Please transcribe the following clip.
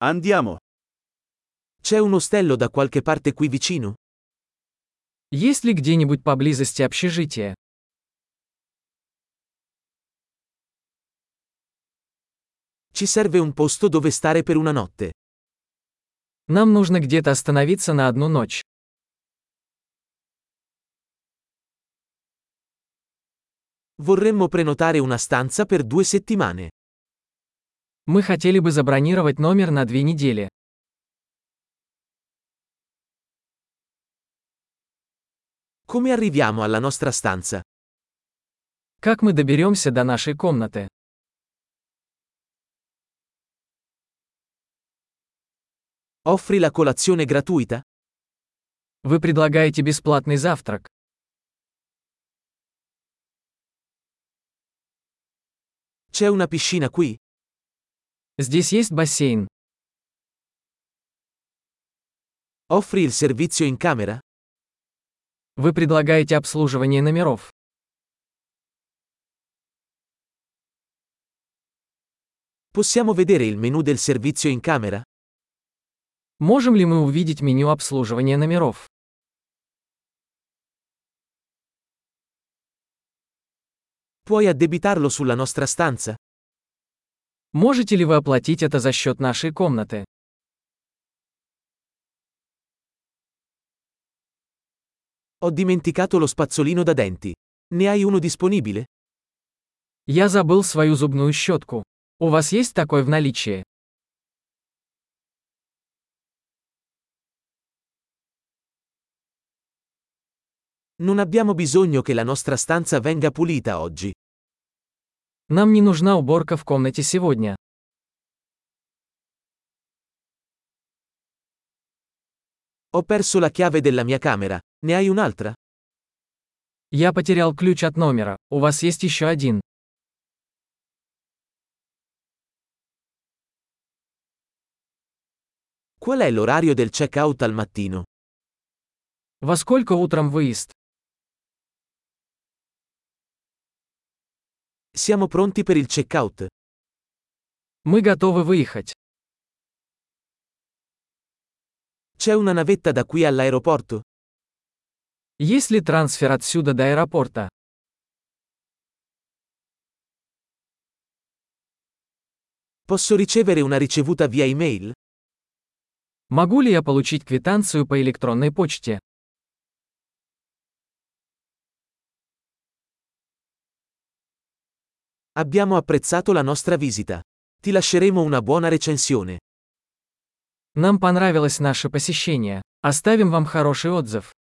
Andiamo. C'è un ostello da qualche parte qui vicino? Есть ли где-нибудь поблизости общежитие? Ci serve un posto dove stare per una notte. Нам нужно где-то остановиться на одну ночь. Vorremmo prenotare una stanza per 2 settimane. Мы хотели бы забронировать номер на 2 недели. Come arriviamo alla nostra stanza? Как мы доберемся до нашей комнаты? Offri la colazione gratuita? Вы предлагаете бесплатный завтрак. C'è una piscina qui? Здесь есть бассейн. Offri il servizio in camera? Вы предлагаете обслуживание номеров. Possiamo vedere il menu del servizio in camera? Можем ли мы увидеть меню обслуживания номеров? Puoi addebitarlo sulla nostra stanza? Можете ли вы оплатить это за счет нашей комнаты? Ho dimenticato lo spazzolino da denti. Ne hai uno disponibile? Я забыл свою зубную щетку. У вас есть такой в наличии? Non abbiamo bisogno che la nostra stanza venga pulita oggi. Нам не нужна уборка в комнате сегодня. Ho perso la chiave della mia camera. Ne hai un'altra? Я потерял ключ от номера. У вас есть еще один? Qual è l'orario del check-out al mattino? Во сколько утром выезд? Siamo pronti per il check-out. Мы готовы выехать. C'è una navetta da qui all'aeroporto? Есть ли трансфер отсюда до аэропорта? Posso ricevere una ricevuta via email? Могу ли я получить квитанцию по электронной почте? Abbiamo apprezzato la nostra visita. Ti lasceremo una buona recensione. Нам понравилось наше посещение. Оставим вам хороший отзыв.